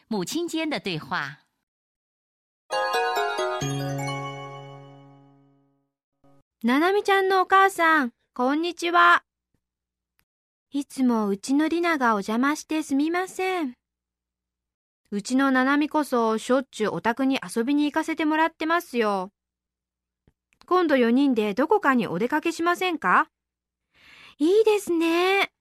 母亲间的对话。 ななみちゃんのお母さん、こんにちは。いつもうちのりながお邪魔してすみません。うちのななみこそしょっちゅうお宅に遊びに行かせてもらってますよ。今度4人でどこかにお出かけしませんか？いいですね。